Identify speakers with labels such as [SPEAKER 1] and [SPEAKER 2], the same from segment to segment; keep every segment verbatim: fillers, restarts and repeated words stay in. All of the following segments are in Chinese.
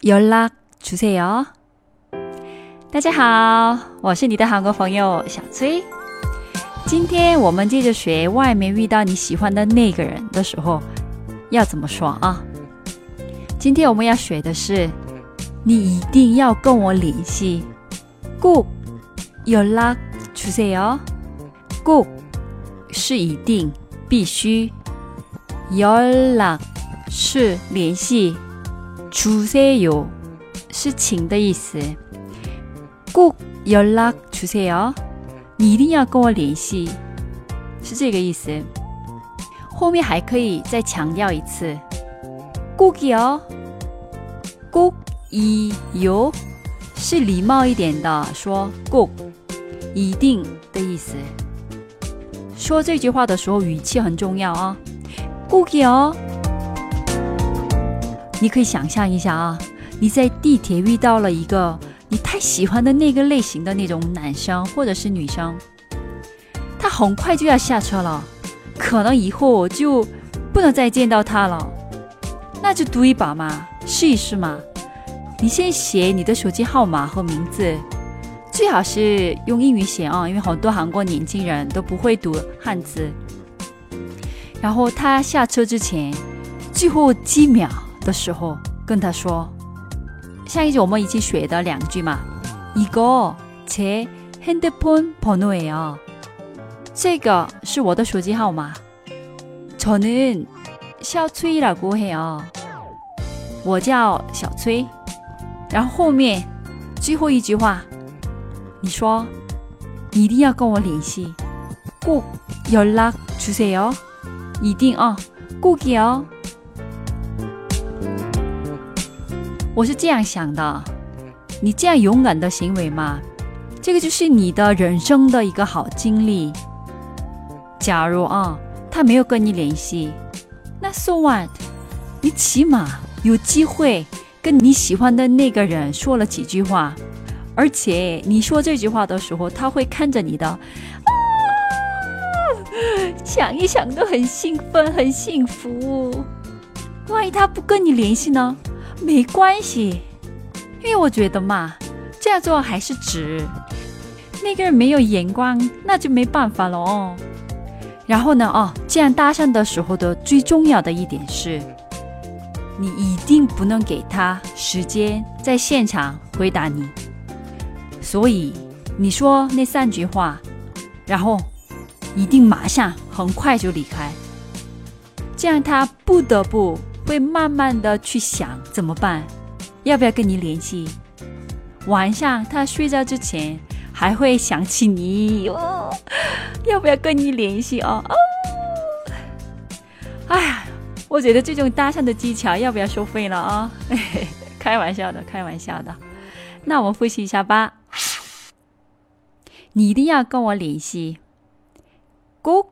[SPEAKER 1] 연락 주세요。 大家好，我是你的韩国朋友小崔。今天我们接着学外面遇到你喜欢的那个人的时候要怎么说啊？今天我们要学的是你一定要跟我联系，꼭 연락 주세요。 꼭是一定必须，연락是联系，주세요是请的意思。꼭 연락 주세요， 你一定要跟我联系，是这个意思。后面还可以再强调一次，꼭이요， 꼭이요是礼貌一点的，说꼭一定的意思。说这句话的时候语气很重要啊，꼭이요。你可以想象一下啊，你在地铁遇到了一个你太喜欢的那个类型的那种男生或者是女生，他很快就要下车了，可能以后就不能再见到他了，那就赌一把嘛，试一试嘛。你先写你的手机号码和名字，最好是用英语写啊，因为很多韩国年轻人都不会读汉字。然后他下车之前最后几秒的时候跟他说，上一集我们一起学的两句嘛，이거 제 핸드폰 번호예요。 这个是我的手机号码。저는 샤오츠이라고 해요。 我叫小崔。然后后面最后一句话，你说你一定要跟我联系，꼭 연락 주세요。 一定啊，꼭이요。我是这样想的，你这样勇敢的行为嘛，这个就是你的人生的一个好经历。假如啊，他没有跟你联系，那 so what？ 你起码有机会跟你喜欢的那个人说了几句话，而且你说这句话的时候，他会看着你的，啊，想一想都很兴奋，很幸福。万一他不跟你联系呢？没关系，因为我觉得嘛，这样做还是值。那个人没有眼光，那就没办法了哦。然后呢，哦，这样搭讪的时候的最重要的一点是，你一定不能给他时间在现场回答你。所以你说那三句话，然后一定马上很快就离开，这样他不得不会慢慢的去想怎么办，要不要跟你联系。晚上他睡觉之前还会想起你，哦，要不要跟你联系哦？哦，哎呀，我觉得这种搭讪的技巧要不要收费了啊？开玩笑的，开玩笑的。那我们复习一下吧。你一定要跟我联系，꼭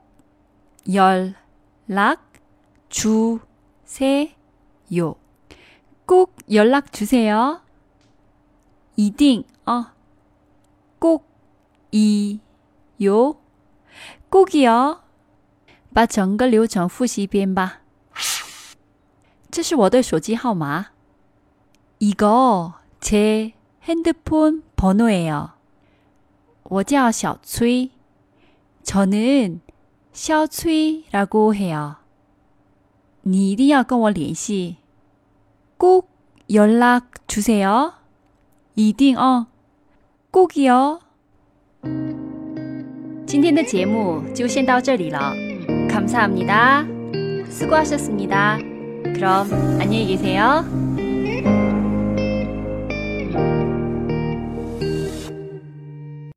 [SPEAKER 1] 연락 주 세요。 꼭 연락 주세요。 一定啊，꼭이요， 꼭이요。 把整个流程复习一遍吧。这是我的手机号码，이거 제 핸드폰 번호예요。 我叫小崔，저는 샤오츠이라고 해요。你一定要跟我联系，꼭 연락 주세요。 一定哦，꼭이요。 今天的节目就先到这里了，감사합니다。수고하셨습니다。그럼 안녕히 계세요。